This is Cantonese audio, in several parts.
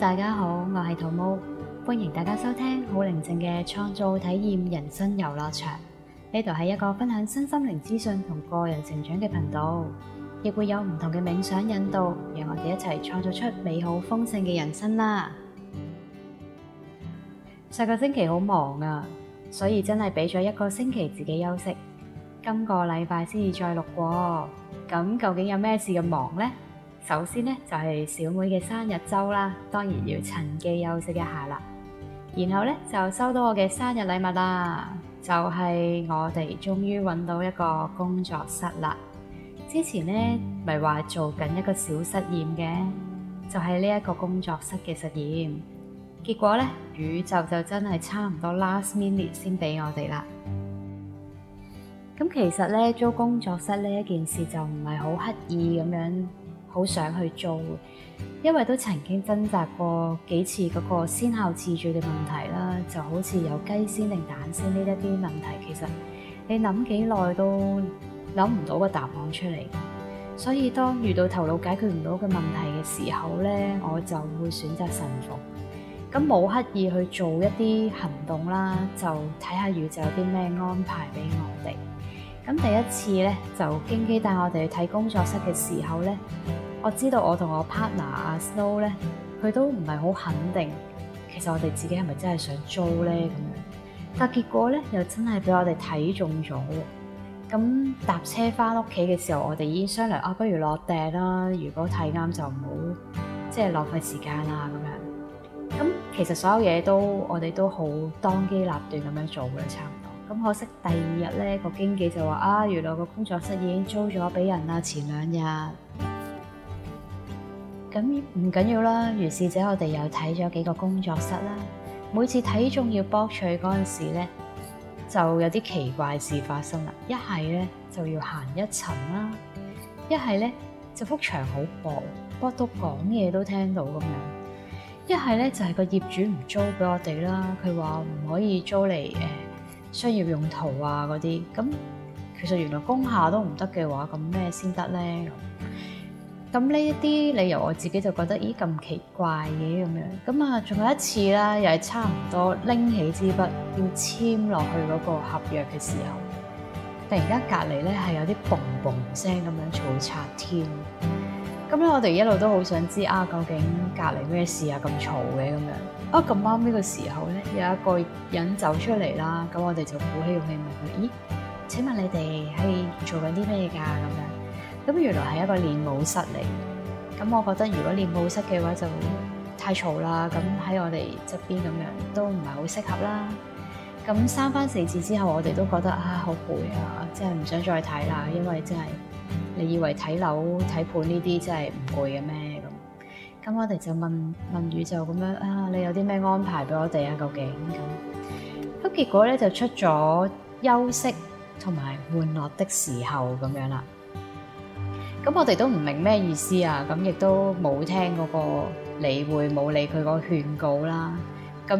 大家好，我係桃毛，歡迎大家收聽好寧靜嘅創造體驗人生遊樂場。呢度係一個分享身心靈資訊同個人成長嘅頻道，亦會有唔同嘅冥想引導，讓我哋一齊創造出美好豐盛嘅人生啦。上個星期好忙啊，所以真係俾咗一個星期自己休息。今個禮拜先至再錄過，咁究竟有咩事咁忙呢？首先呢，就係小妹嘅生日週啦，當然要趁機休息一下啦。然後呢，就收到我嘅生日禮物啦，就係我哋終於揾到一個工作室啦。之前呢咪話做緊一個小實驗嘅，就係呢一個工作室嘅實驗。結果呢，宇宙就真係差唔多 last minute 先俾我哋啦。咁其實呢，租工作室呢一件事就唔係好刻意咁樣，好想去做，因為都曾經掙扎過幾次嗰個先後次序嘅問題啦，就好似有雞先定蛋先呢一啲問題，其實你諗幾耐都諗唔到個答案出嚟。所以當遇到頭腦解決唔到嘅問題嘅時候咧，我就會選擇臣服，咁冇刻意去做一啲行動啦，就睇下宇宙有啲咩安排俾我哋。咁第一次咧，就經基帶我哋去睇工作室嘅時候咧，我知道我同我 partner 阿 Snow 咧，佢都唔係好肯定，其實我哋自己係咪真係想租咧咁樣。但結果咧，又真係俾我哋睇中咗。咁搭車翻屋企嘅時候，我哋已經商量不如落訂啦。如果睇啱就唔好，即係浪費時間啦咁樣。咁其實所有嘢我哋都好當機立斷咁樣做嘅，差唔多。咁可惜第二日咧，個經紀就話原來個工作室已經租咗俾人啦，前2日。咁唔緊要啦，於是者我哋又睇咗幾個工作室啦。每次睇中要博取嗰陣時咧，就有啲奇怪事發生啦。一係咧就要行一層啦，一係咧就幅牆好薄，薄到講嘢都聽到咁樣。一係咧就係個業主唔租俾我哋啦，佢話唔可以租嚟商業用途啊嗰啲。咁其實原來工廈都唔得嘅話，咁咩先得咧？咁呢一啲理由我自己就覺得咁奇怪嘅咁樣。咁啊，仲有一次啦，又係差唔多拎起支筆要簽落去嗰個合約嘅時候，突然間隔離咧係有啲嘣嘣聲咁樣嘈拆天。咁咧我哋一路都好想知究竟隔離咩事咁嘈嘅咁樣。咁啱呢個時候咧，有一個人走出嚟啦，咁我哋就鼓起勇氣問佢：咦，請問你哋係做緊啲咩㗎？咁樣。咁原來係一個練舞室嚟，咁我覺得如果練舞室嘅話就太嘈啦，咁喺我哋側邊咁樣都唔係好適合啦。咁3番4次之後，我哋都覺得好攰啊，真係唔想再睇啦，因為真係你以為睇樓睇盤呢啲真係唔攰嘅咩咁？我哋就問宇宙咁樣你有啲咩安排俾我哋究竟咁？結果咧就出咗休息同埋玩樂的時候咁樣啦。咁我哋都唔明咩意思啊，咁亦都冇聽嗰個理會，冇理佢個勸告啦。咁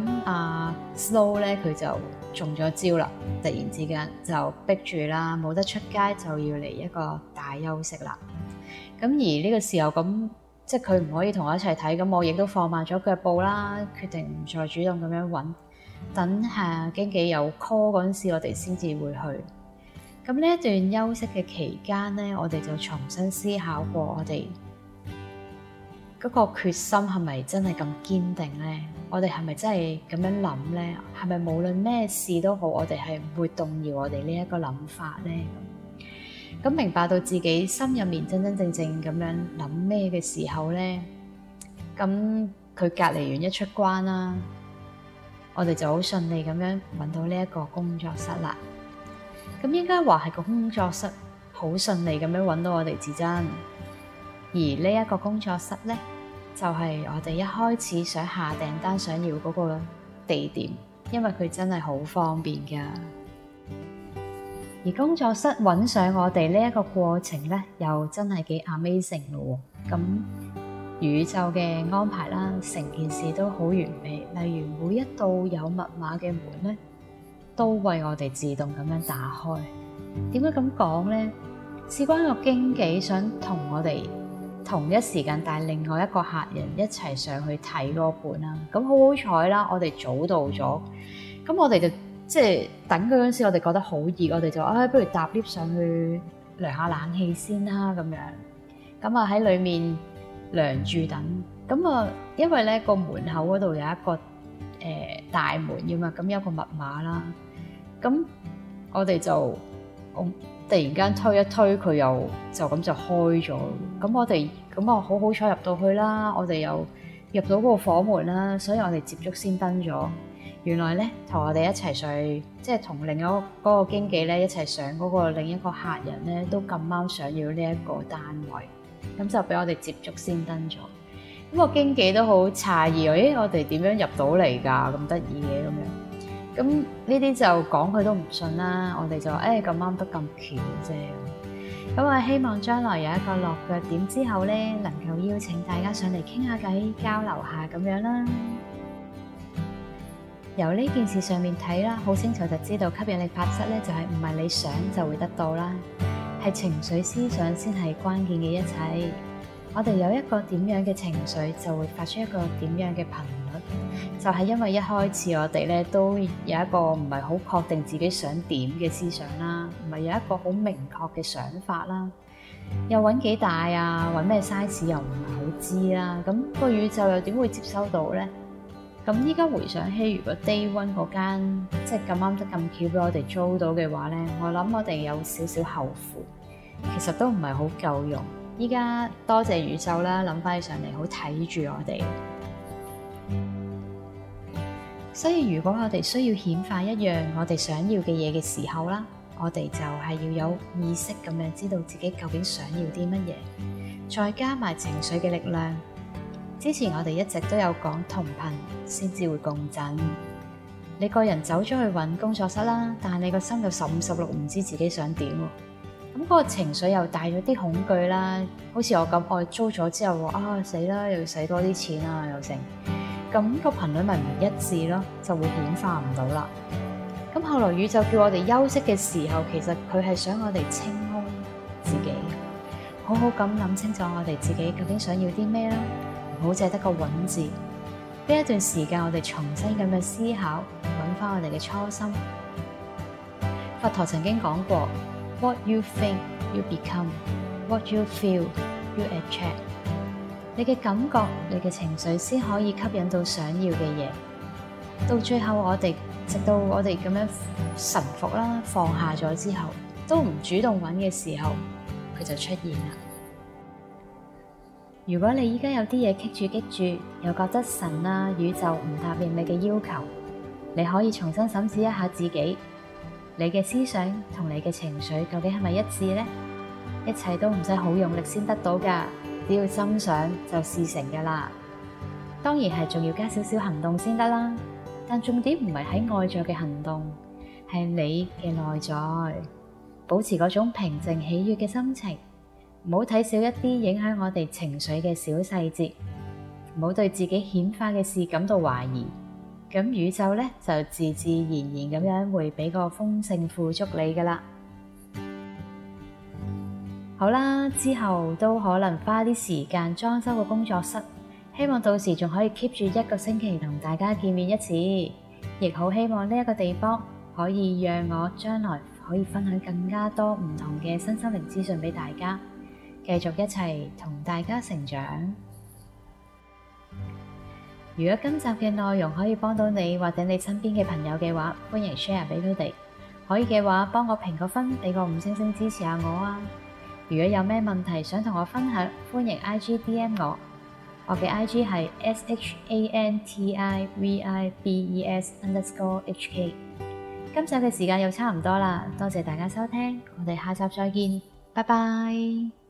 Snow 咧佢就中咗招啦，突然之間就逼住啦，冇得出街就要嚟一個大休息啦。咁而呢個時候咁，即係佢唔可以同我一齊睇，咁我亦都放慢咗腳步啦，決定唔再主動咁樣揾，等下經紀有 call 嗰陣時，我哋先至會去。咁呢一段休息嘅期間咧，我哋就重新思考過我哋嗰個決心係咪真係咁堅定咧？我哋係咪真係咁樣諗咧？係咪無論咩事都好，我哋係唔會動搖我哋呢一個諗法咧？咁明白到自己心入面真真正正咁樣諗咩嘅時候咧，咁佢隔離完一出關啦，我哋就好順利咁樣揾到呢一個工作室啦。咁應該話係個工作室好順利咁樣揾到我哋至真，而呢一個工作室咧，就係我哋一開始想下訂單想要嗰個地點，因為佢真係好方便噶。而工作室揾上我哋呢一個過程咧，又真係幾 amazing 咯。咁宇宙嘅安排啦，成件事都好完美。例如每一道有密碼嘅門咧，都為我哋自動咁樣打開。點解咁講咧？事關個經紀想同我哋同一時間帶另外一個客人一齊上去睇嗰本啦。咁好彩啦，我哋早到咗，咁我哋就即係等佢嗰陣時，我哋覺得好熱，我哋就不如搭 lift 上去涼下冷氣先啦咁樣。咁啊喺裏面涼住等。咁啊，因為咧個門口嗰度有一個大門㗎嘛，咁有個密碼啦。咁我哋就突然間推一推佢，又就咁就開咗。咁我哋咁好彩入到去啦，我哋又入到嗰個房門啦，所以我哋接觸先登咗。原來咧同我哋一齊上去，即係同另一嗰個經紀咧一齊上嗰個另一個客人咧，都咁啱想要呢一個單位，咁就俾我哋接觸先登咗。咁個經紀都好詫異，我哋點樣入到嚟㗎？咁得意嘅咁樣。咁呢啲就講佢都唔信啦。我哋就咁啱得咁巧啫。咁啊，希望將來有一個落腳點之後咧，能夠邀請大家上嚟傾下偈、交流下咁樣啦。由呢件事上面睇啦，好清楚就知道吸引力法則咧，就係唔係你想就會得到啦，係情緒思想先係關鍵嘅一切。我哋有一個點樣嘅情緒，就會發出一個點樣嘅頻率。就係因為一開始我哋咧都有一個唔係好確定自己想點嘅思想啦，唔係有一個好明確嘅想法啦，又揾幾大啊，揾咩 size 又唔係好知啦，咁個宇宙又點會接收到咧？咁依家回想起，如果 Day One 嗰間即係咁啱得咁巧俾我哋租到嘅話咧，我諗我哋有少少後悔，其實都唔係好夠用。依家多謝宇宙啦，諗翻起上嚟好睇住我哋。所以如果我哋需要顯化一樣我哋想要嘅嘢嘅時候啦，我哋就係要有意識咁樣知道自己究竟想要啲乜嘢，再加埋情緒嘅力量。之前我哋一直都有講同頻先至會共振。你個人走咗去揾工作室啦，但係你個心有15、16唔知自己想點喎。咁嗰個情緒又帶咗啲恐懼啦，好似我咁，我租咗之後死啦，又要使多啲錢啊，又成，咁個頻率咪唔一致咯，就會顯化唔到啦。咁後來宇宙叫我哋休息嘅時候，其實佢係想我哋清空自己，好好咁諗清楚我哋自己究竟想要啲咩啦，唔好淨係得個揾字。呢一段時間我哋重新咁樣思考，揾翻我哋嘅初心。佛陀曾經講過，What you think, you become. What you feel, you attract. 你嘅感覺、你嘅情緒先可以吸引到想要嘅嘢。到最後直到我哋咁樣臣服啦、放下咗之後，都唔主動揾嘅時候，佢就出現啦。如果你依家有啲嘢棘住，又覺得神啊、宇宙唔答應你嘅要求，你可以重新審視一下自己。你嘅思想同你嘅情緒究竟係咪一致呢？一切都唔使好用力先得到㗎，只要心想就事成㗎啦。當然係仲要加少少行動先得啦，但重點唔係喺外在嘅行動，係你嘅內在。保持嗰種平靜喜悅嘅心情，唔好睇少一啲影響我哋情緒嘅小細節，唔好對自己顯化嘅事感到懷疑。咁宇宙咧就自自然然咁樣會俾個豐盛富足你噶啦。好啦，之後都可能花啲時間裝修個工作室，希望到時仲可以 keep 住1個星期同大家見面一次，亦好希望呢一個地方可以讓我將來可以分享更加多唔同嘅身心靈資訊俾大家，繼續一齊同大家成長。如果今集嘅內容可以幫到你或者你身邊嘅朋友嘅話，歡迎 share 俾佢哋。可以嘅話，幫我評個分，俾個5星星支持下我啊！如果有咩問題想同我分享，歡迎 IG DM 我。我嘅 IG 係 SHANTIVIBES_HK。今集嘅時間又差唔多啦，多謝大家收聽，我哋下集再見，拜拜。